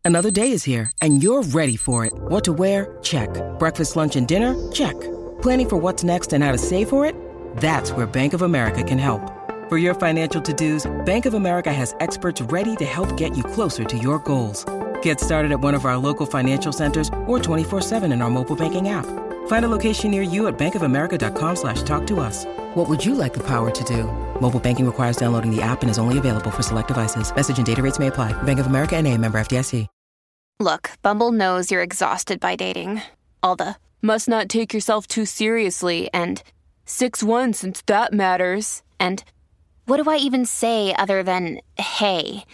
Another day is here, and you're ready for it. What to wear? Check. Breakfast, lunch, and dinner? Check. Planning for what's next and how to save for it? That's where Bank of America can help. For your financial to-dos, Bank of America has experts ready to help get you closer to your goals. Get started at one of our local financial centers or 24/7 in our mobile banking app. Find a location near you at bankofamerica.com/talktous. What would you like the power to do? Mobile banking requires downloading the app and is only available for select devices. Message and data rates may apply. Bank of America N.A., member FDIC. Look, Bumble knows you're exhausted by dating. All the must not take yourself too seriously and 6'1" since that matters. And what do I even say other than hey?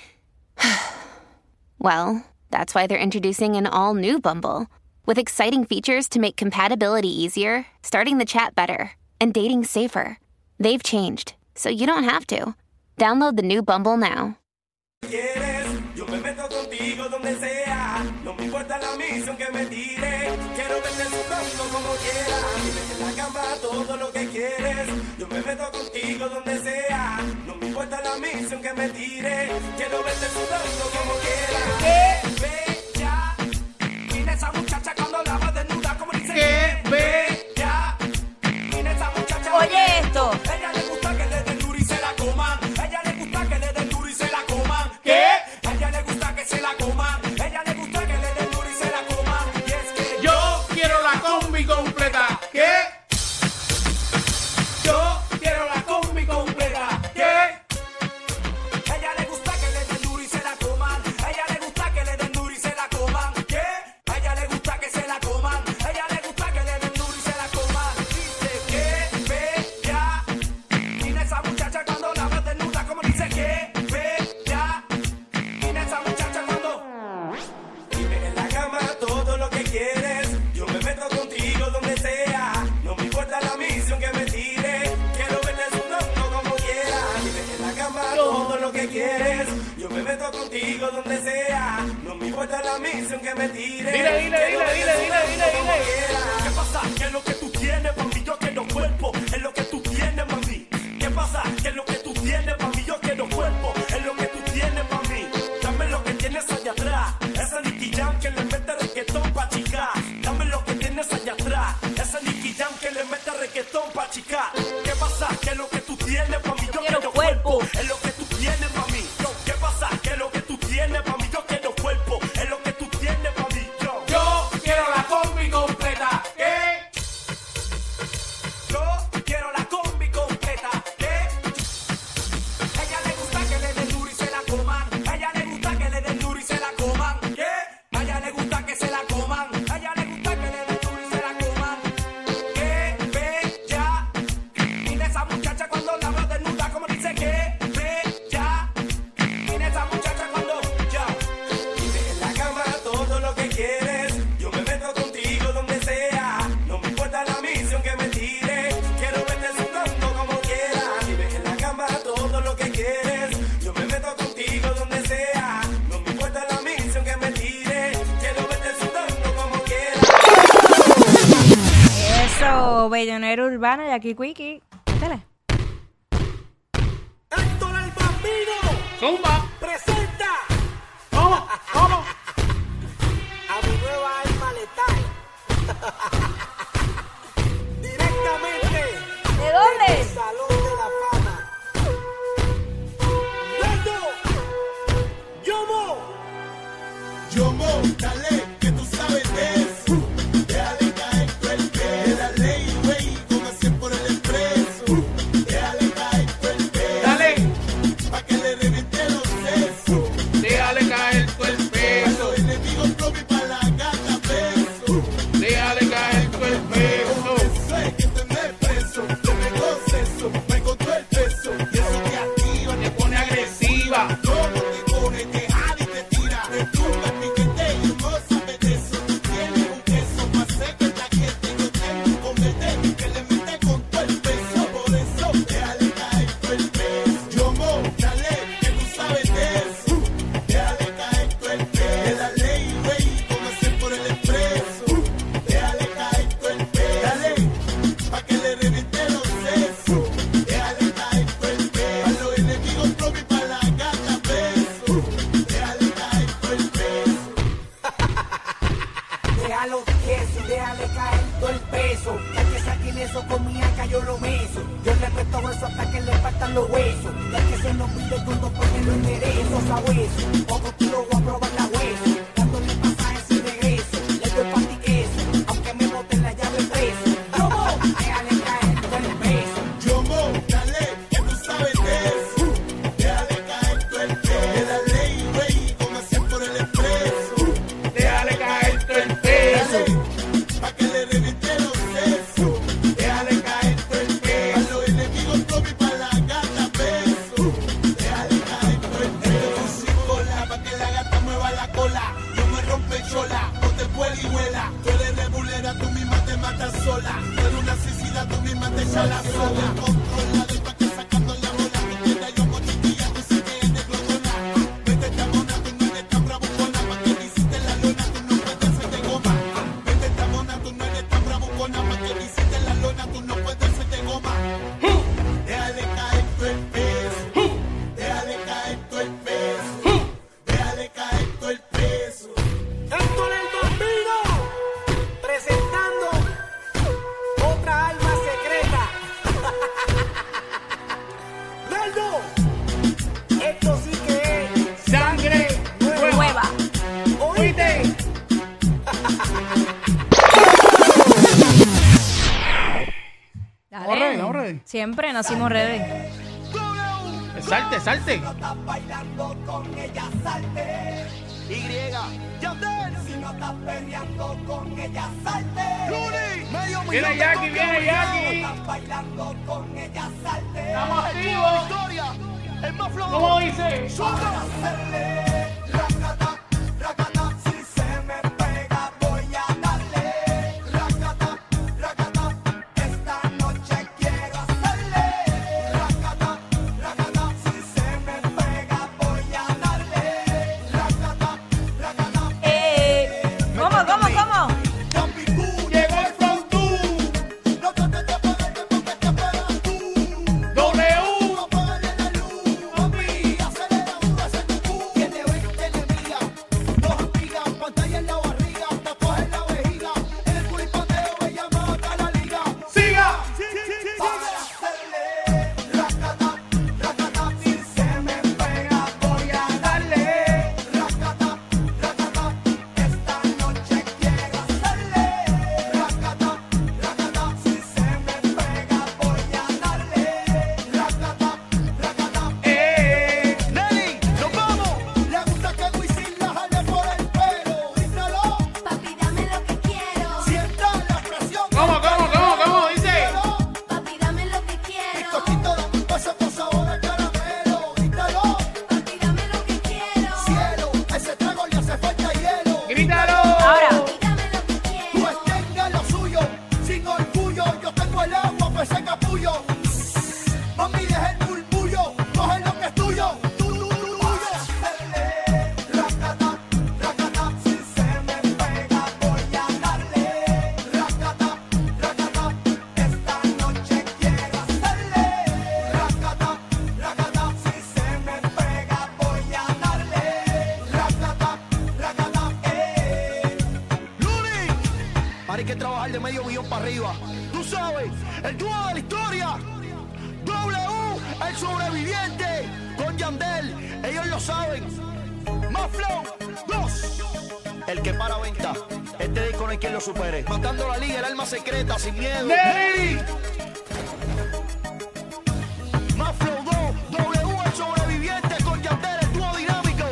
Well, that's why they're introducing an all-new Bumble with exciting features to make compatibility easier, starting the chat better, and dating safer. They've changed, so you don't have to. Download the new Bumble now. Yo me meto contigo donde sea, no me importa la misión que me tire, quiero verte sudando como quieras, dime en la cama todo lo que quieres, yo me meto contigo donde sea, no me importa la misión que me tire, quiero verte sudando como quieras. ¡Qué bella! Mira esa muchacha cuando la va desnuda, como dice. ¡Qué bella! Mira esa muchacha. Oye esto. Ella le gusta que le den duro y se la coman, ella le gusta que le den duro y se la coman. ¿Qué? Se la coman, ella le gusta que le den duro y se la coman. Y es que yo quiero la combi completa. ¿Qué? Yo quiero la combi completa. ¿Qué? Ella le gusta que le den duro y se la coman. Ella le gusta que le den duro y se la coman. ¿Qué? Ella le gusta que se la coman. Ella le gusta que le den duro y se la coman. Dice que bella. Mira esa muchacha cuando la ves desnuda, como dice que bella. Mira esa muchacha. Todo lo que quieres, yo me meto contigo donde sea, no me importa la misión que me tire, quiero verte sudando como quieras, dime en la cama todo lo que quieres, yo me meto contigo donde sea, no me importa la misión que me tire, dile. ¿Qué pasa? ¿Qué es lo que tú tienes, mami? Yo quiero cuerpo, es lo que tú tienes, mami. ¿Qué pasa? ¿Qué es lo que tú tienes, mami? Yo quiero cuerpo, es lo que tú tienes, mami. Dame lo que tienes allá atrás, esa Nicky Jam que le mete reggaetón pa' chicar. Dame lo que tienes allá atrás, esa Nicky Jam que le mete reggaetón pa' chicar. ¿Qué pasa? ¿Qué es lo que tú tienes, mami? Yo quiero cuerpo, es lo que tú tienes, mami. ¿Qué pasa? ¿Qué es lo que tú tienes, mami? Yo quiero cuerpo, es lo que tú tienes, mami. Yo quiero la combi completa. ¿Qué? Yo quiero la combi completa. ¿Qué? Ella le gusta que le den duro y se la coman. Ella le gusta que le den duro y se la coman. ¿Qué? A ella le gusta que se la coman. A ella le gusta que le den duro y se la coman. ¡Qué bella! Mira esa muchacha cuando la veo desnuda, como dice que bella. Mira esa muchacha cuando ya. Dime en la cama todo lo que quieres. Yo me meto contigo donde sea. No me importa la misión que me tire. Quiero verte sudando como quieras. Dime en la cama todo lo que quieres. Yo me meto contigo donde sea. No me importa la misión que me tire. Quiero verte sudando como quieras. Eso, Bellonero Urbano y aquí Quickie. Dale. Héctor el Bambino Zumba. presenta ¿Cómo? a mi nueva alma letal. Directamente ¿De dónde? del Salón de la Fama. Yomo, dale, que tú sabes de eso. Déjale caer tu el pelo. La ley, güey, con acción por el expreso. Déjale caer tu el pelo. Dale. Pa' que le reviente los sesos. Déjale caer tu el Pa' peso. los enemigos propios y pa' la gata beso. Déjale caer tu el peso. Eso es que te me preso. Yo me gozo eso, me encontró el peso. Y eso te activa, Te pone agresiva. todo te coge, te jala y te tira. Te tumba el piquete y no sabes de eso. Tú tienes Déjalo tieso, déjale caer todo el peso. Ya que saquen eso con mi acá yo lo meso. Yo le presto eso hasta que le faltan los huesos. Ya que se nos pide todo porque lo enderezo, sabueso. Otro kilo voy a probar la hueso. Dándole pasajes sin regreso. Le doy pa' ti queso, aunque me boten la llave preso. Déjale caer todo el peso. Yomo, dale, que tú sabes de eso. Déjale caer todo el peso. De la ley, güey, con hacer por el expreso. Déjale caer todo el peso. Pa' que le reviente los sesos. Déjale caer todo el peso. A los enemigos Tommy pa' la gata beso. Déjale caer todo el peso. Sin cola, pa' que la gata mueva la cola. No me rompe chola, no te vuela y vuela. Tú eres rebulera, tú misma te matas sola. Tú eres una suicida, tú misma te echas la soga. Controla, de pa' que sacando la bola. Tú quieres yo mochiquilla, tú sí que eres glotona. Vete chamona, tú no eres tan bravucona. Pa' que te hiciste la lona, tú no puedes ser de goma. Vete chamona, tú no eres tan bravucona. Pa' que te hiciste la lona, tú no puedes ser de goma. Déjale caer todo el peso. Déjale caer todo el peso. Déjale caer todo el peso. Héctor el Bambino, presentando otra alma secreta. Naldo, esto sí que es Sangre Nueva. oíste. Dale. Estamos ready. Siempre nacimos ready. Salte, salte. Estás bailando con ella, salte. Si no estás peleando con ella, salte. Viene Jackie, viene Jackie. Estás bailando con ella, salte. Estamos activos. ¿Cómo dice? Para hacerle racata, racata. Si se me pega voy a darle racata, racata. Esta noche quiero hacerle racata, racata. Si se me pega voy a darle racata, racata. ¿Cómo? Llegó el From 2. No trates de apagarte porque te apagas tú. W. No apagarle la luz, papi. Acelera, hace tu cu. Tiene 20 enemigas, dos amigas, pantalla en la barriga, tatuaje en la vejiga. En el culipateo ella mata la liga. Siga. Para hacerle racata, racata. Si se me pega voy a darle racata, racata. Esta noche quiero hacerle racata, racata. Si se me pega voy a darle racata, racata. Nelly, nos vamos. Le gusta que Wisin la jale por el pelo. Díselo, Papi, dame lo que quiero. sienta la presión. ¿Cómo dice? Papi, dame lo que quiero. Coquito, dame un beso con sabor a caramelo. Díselo, Papi, dame lo que quiero. cielo, a ese trago le hace falta hielo. Grítalo. Ahora. Papi, dame lo que quiero. Pues tenga lo suyo, sin orgullo. Yo tengo el agua, pues ese capullo. Mami, deja el murmullo, coge lo que es tuyo. Racata, racata, si se me pega voy a darle racata, racata. Esta noche quiero hacerle racata, racata. Si se me pega voy a darle racata, racata. Luli, ahora hay que trabajar de medio millón para arriba. Tú sabes, el dúo de la historia. W, el sobreviviente, con Yandel, ellos lo saben. Más Flow 2, el que para venta. Este disco no hay quien lo supere. Matando la liga, el alma secreta, sin miedo. Nelly. Más Flow 2, W, el sobreviviente, con Yandel, el dúo dinámico.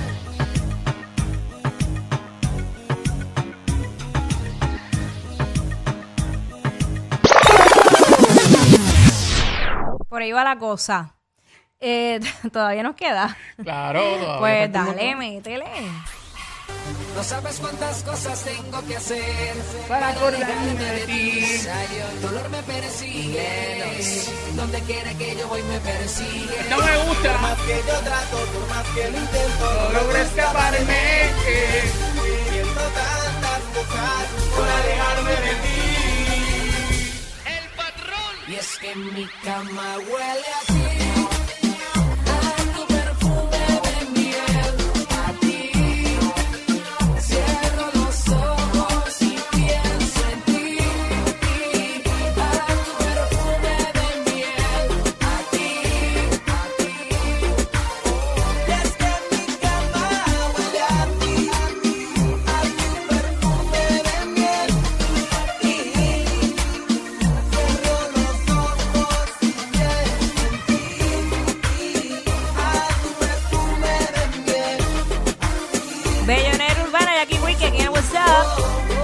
Por ahí va la cosa. Todavía nos queda. Claro. todavía Pues falta un dale, montón. métele. No sabes cuántas cosas tengo que hacer Para acordarme de ti. Dolor me persigue, donde quiera que yo voy me persigue. No me gusta. Más que yo trato, por más que lo intento, No logro escaparme. siento tantas cosas Por alejarme de ti. Y es que mi cama huele a ti, a tu perfume de miel, a ti. Cierro los ojos Jackie Wiki aquí en What's Up.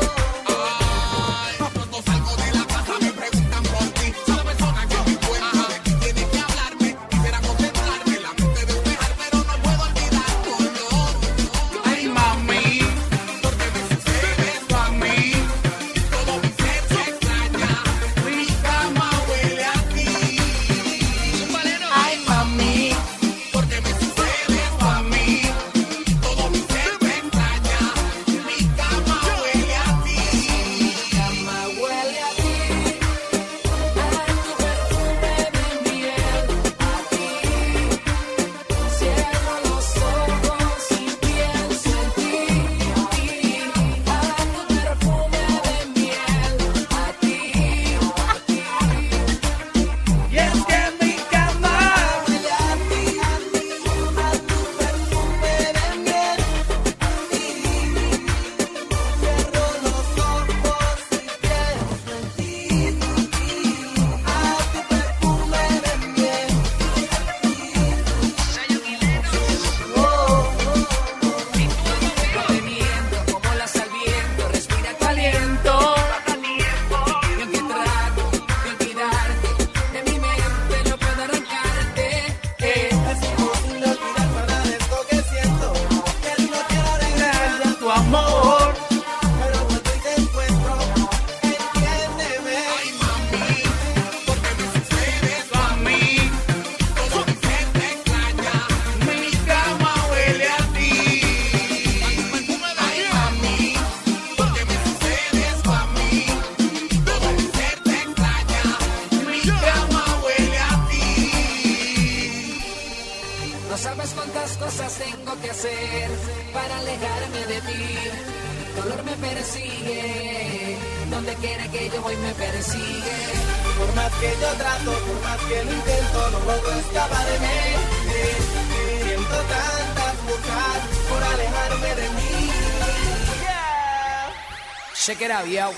Check it out, yo.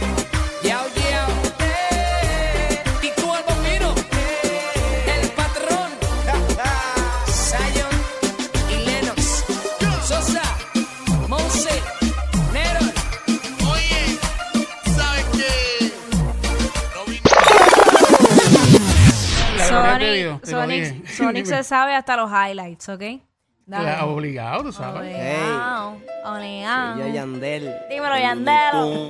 Yo. Y tú el bombino, el patrón, Zion y Lennox, Sosa, Monse, Nero. Oye, ¿sabes qué? Sonic se sabe hasta los highlights, ¿ok? Dale. Obligado, tú sabes. Obligado. Yo, Yandel. Dímelo, Yandel.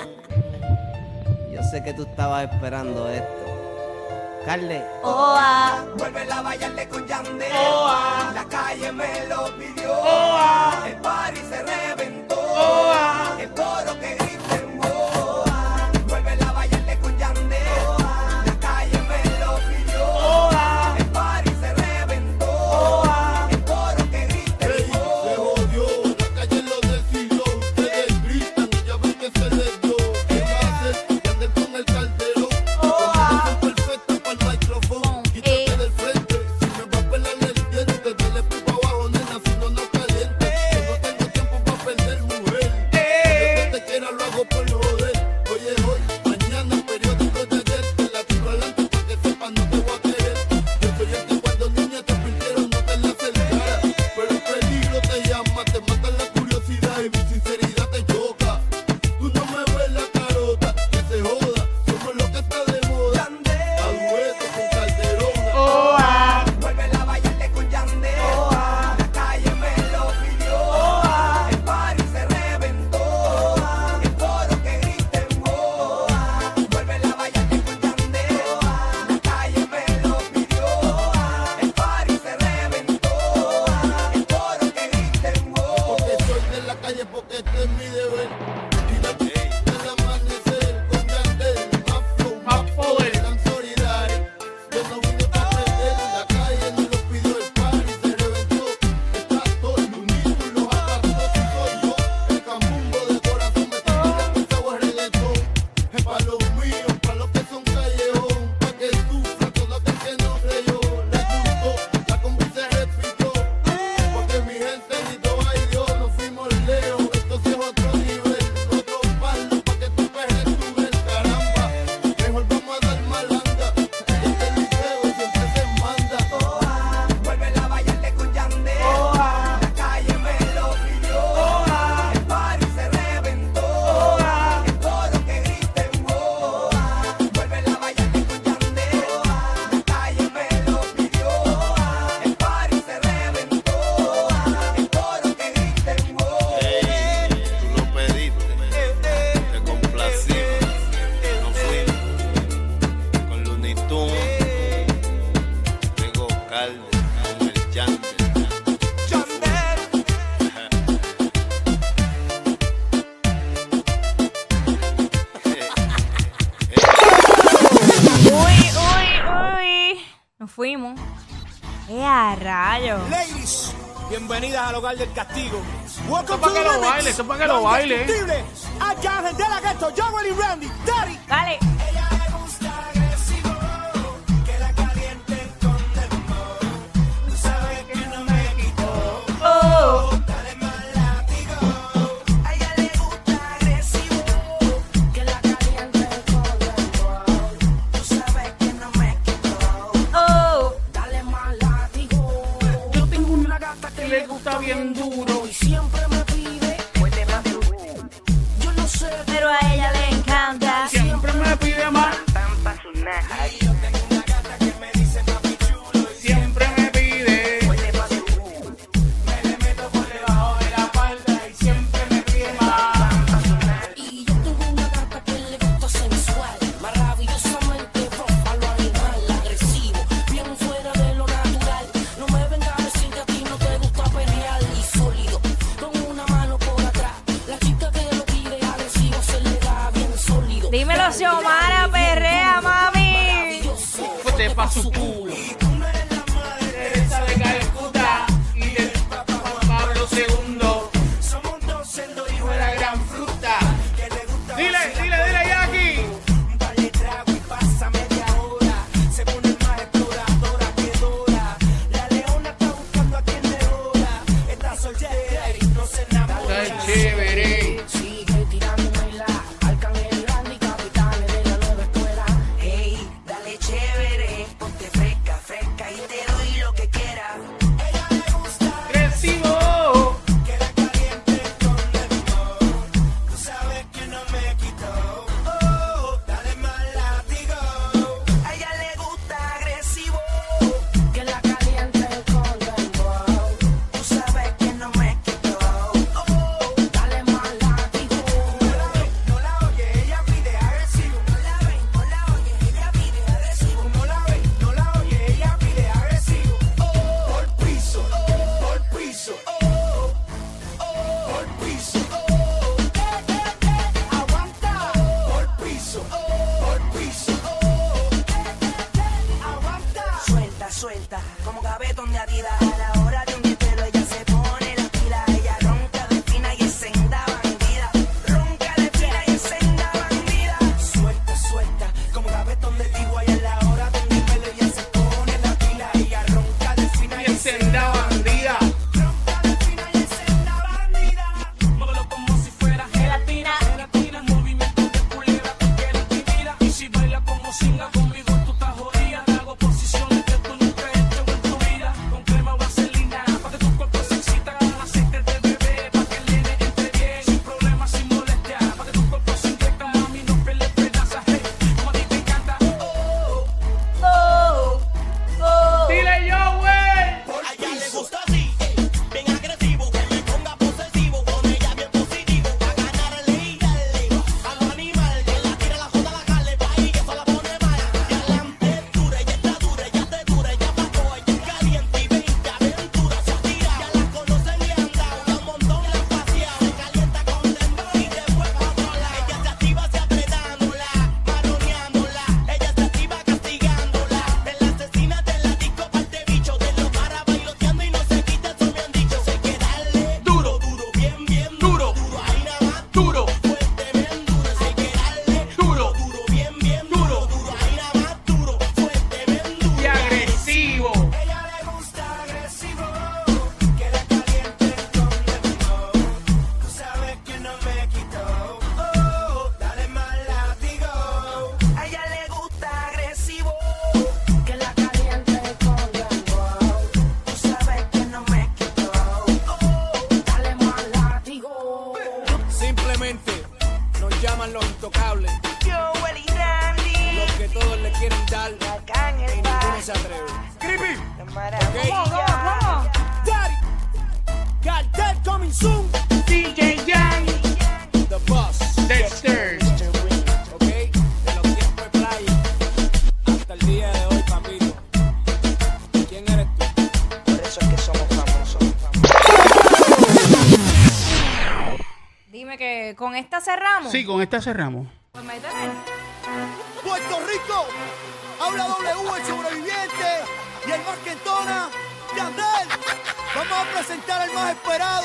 Yo sé que tú estabas esperando esto. Carle. Oa, vuelve a bailarle con Yandel. Oa, la calle me lo pidió. Oa, el party se reventó. Oa, el coro que griten. Oa, vuelve a bailarle con Yandel. Oa, la calle me lo pidió. Oa, el party se reventó. Oa, el coro que griten. Se jodió, la calle lo decidió. Ustedes gritan y ya ven que se les dio. ¿Qué va a hacer? Yandel con el Calderón. Combinación perfecta para el micrófono. Quítate del frente. Si me va a pelar el diente, dale pipa abajo, nena, si no nos caliente. Yo no tengo tiempo para perder, mujer. Yo que te quiera lo hago por joder. Oye, hoy, mañana, periódico de ayer. Te la tiro adelante para que sepas, no te voy a querer. Yo soy el que cuando niña te pintieron no te la acercara. Pero el peligro te llama, te mata la curiosidad y mi sinceridad te choca. Tú no me ves la carota, que se joda. Somos lo que está de moda. A dueto con Calderón. Oa, vuelve a bailarle con Yandel. Oa, la calle me lo pidió. Oa, el party se reventó. Oa, el coro que griten. Oa, vuelve a bailarle con Yandel. Oa, la calle me lo pidió. Oa, el party se reventó. Oa, el coro que griten. Porque soy de la calle, porque este es mi deber. Y la del amanecer con Yandel. Más flow, más poder. Tan solidario. Yo no vine para aprender. La calle no lo pidió, el party se reventó. Está todo el unido y los apartos y soy yo. El cambumbo de corazón me está pensado el reggaetón. Es para los míos, para los que son callejón. Pa' que sufra todo aquel que no creyó. Les gustó, la combi se repitió. Porque mi gente gritó, ay Dios, nos fuimos lejos. Esto sí es otro nivel. a rayo! Ladies, bienvenidas al hogar del castigo. Welcome Eso to para the que lo remix. baile, eso para que lo baile. Indiscutible. Arcángel de la Ghetto, Joel y Randy, Daddy. Dale. Ella le gusta agresivo, que la caliente con dembow. Tú sabes que no me quito. Oh. Dale más látigo. A ella le gusta agresivo, que la caliente con dembow. Tú sabes que no me quito. Oh. Dale más látigo. Yo tengo una gata que le gusta bien duro y siempre me pide. Muerde más duro. Yo no sé, Pero a ella le encanta. Siempre me pide más. ay, yo tengo una gata que me dice papi chulo y Siempre me pide. muerde más duro. Me le meto por debajo de la falda y siempre me pide más. Y yo tengo una gata que le gusta sensual, maravillosamente ropa, lo animal, agresivo, bien fuera de lo natural. No me vengas a decir que a ti no te gusta pelear y sólido, con una mano por atrás. La chica que lo pide agresivo se le da bien sólido. Dímelo, Xiomara, perrea, mami. Fuerte pa' su culo. Teresa de Calcuta y del Papa Juan Pablo II. Somos dos cerdos y Fue la gran fruta. que le gusta Dile, Jackie. un par de tragos y pasa media hora. Se pone más exploradora que Dora. La leona está buscando a quien le hora. Está soltera y no se enamora. Está chévere. Sigue tirándome la Arcángel Randy, capitanes de la nueva escuela. Hey, dale chévere, ponte fresca, fresca y te doy lo que quieras. Ella le gusta Recibo. que la caliente con dembow. Tú sabes que no me quito. Oh, dale más látigo. A ella le gusta agresivo, que la caliente con dembow. Tú sabes que no me quito. Oh, dale más látigo. No la oye, ella pide agresivo. No la ven, no la oye, ella pide agresivo. No la ve, no la oye, ella pide agresivo. Por piso, por piso, por piso. Aguanta. Por piso, aguanta. Suelta, suelta, como gavetón de Adidas. A la hora de un dietero ella se pone la pila. Ella ronca de fina y es senda bandida. Ronca de fina y es senda bandida. Suelta, suelta, como gavetón de tigua y a la hora de un nivel ella se pone la pila. Ella ronca de fina y Y senda bandida. ronca de fina y es senda bandida. Móvelo como si fuera Gelatina. gelatina, movimiento de culebra porque la intimida. Y si baila como singa conmigo tú estás jodida. Hago posiciones que tú nunca has hecho en tu vida. Con crema o vaselina, pa' que tu cuerpo se excita. Con aceite de bebé, pa' que el nene entre bien. Sin problemas, sin molestia, pa' que tu cuerpo se inyecta. Mami, no pierdes esperanza, hey, como a ti te encanta. Oh. Oh. Dile yo, güey. A ella le gusta así, bien agresivo, que me ponga posesivo, con ella bien positivo, a ganarle y darle a los animales, que la tira, la joda, la jale, pa' ahí que eso la pone mal. Y adelante es dura, ella está dura, ella te dura, ella pasó, ella es caliente y ven que aventura se tira. Ya la conocen y han dado, ya un montón la han paseado, se calienta con dembow y después pa' otro lado. Ella se activa se apretándola, maroneándola, ella se activa castigándola, de la asesina de la disco parte bicho, de los para bailoteando y no se quita, eso me han dicho, sé que darle duro, duro, bien, bien duro, duro, ahí nada más duro, fuerte, bien duro, sé que darle duro, duro, bien, bien duro, duro, ahí nada más duro, fuerte, bien duro. Y agresivo. Ella le gusta agresivo, que la caliente con dembow. Tú sabes que no me quito. Oh, dale más látigo. A ella le gusta agresivo, que la caliente con dembow. Tú sabes que no me quito. Oh, dale más látigo. Simplemente nos llaman los intocables, Joel y Randy, los que todos le quieren dar Arcángel y ninguno se atreve. Creepy. maravilla. Daddy, Cartel coming soon, DJ Jan. the boss, Dexter. ok, de los tiempos de playa hasta el día de hoy, papito. ¿Quién eres tú? Por eso es que somos famosos. Dime que con esta cerramos. Sí, con esta cerramos. Pues métele. Puerto Rico, habla W, el sobreviviente. y el más que entona, Yandel. Vamos a presentar al más esperado,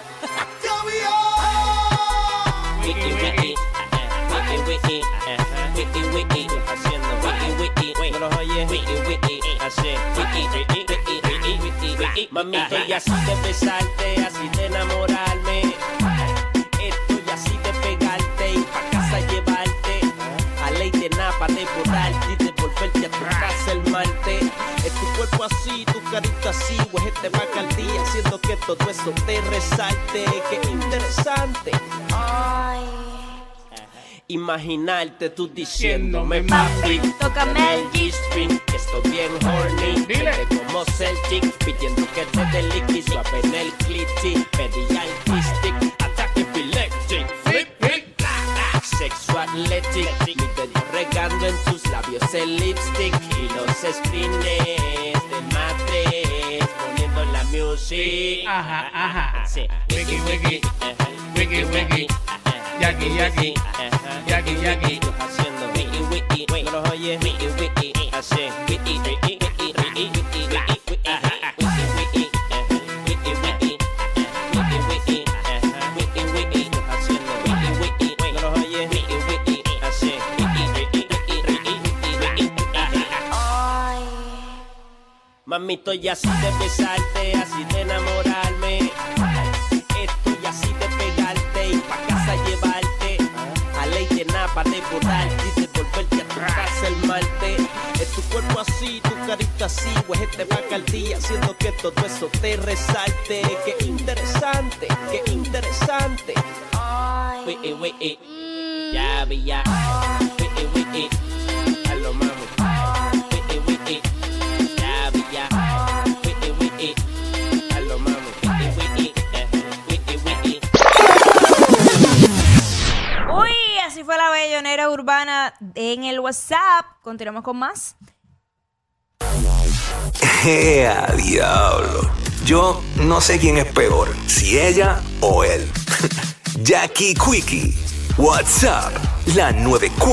Wiki, wiki, wiki, wiki, wiki, haciendo wiki, wiki, ¿no los oyes? Wiki, wiki, hace wiki, wiki, wiki, wiki, wiki. Mamito, y así de besarte, así de enamorarme. Estoy así de pegarte y pa' casa llevarte. A ley de nada pa' devorarte y devolverte a tu casa el martes. Es tu cuerpo así, tu carita así, huejete vaca al día, haciendo que todo eso te resalte. Qué interesante. Imaginarte tú diciéndome, papi, tócame el G-string, que estoy bien horny. Dile como Celtic, pidiendo que te dé liqui, suave en el clitty. Pedí al stick, ataque epileptic. Flip, flip, sexual athletic. Mi dedo regando en tus labios el lipstick y los screens de matres, poniendo la music. Ajá, ajá. Sí. Wiki, wiki, wiki, wiki. Yaki, yaki, yaki, yaki. Haciendo wiki, wiki, wiki. ¿No los oyes? Wiki, wiki, hace wiki, wiki, wiki, wiki, wiki, wiki, wiki, wiki, wiki, wiki, haciendo wiki, wiki, wiki. ¿No los oyes? Wiki, wiki, hace wiki, wiki, wiki, wiki, wiki. Mamito, y así de besarte, así de enamorarme. Estoy así de pegarte y pa' casa llevarte. A ley de nada pa' devorarte y devolverte a tu casa el martes. Es tu cuerpo así, tu carita así, huejete vaca al día, haciendo que todo eso te resalte. Qué interesante, qué interesante. Wiki, wiki, ya vi ya. Wiki, wiki, a lo mami. Wiki, wiki, ya vi ya. Wiki, wiki, a lo mami. Wiki, wiki, wiki. Uy, así fue la bellonera urbana en el WhatsApp. Continuamos con más. ¡A diablo! Yo no sé quién es peor, si ella o él. Jackie Quickie, WhatsApp, la 94.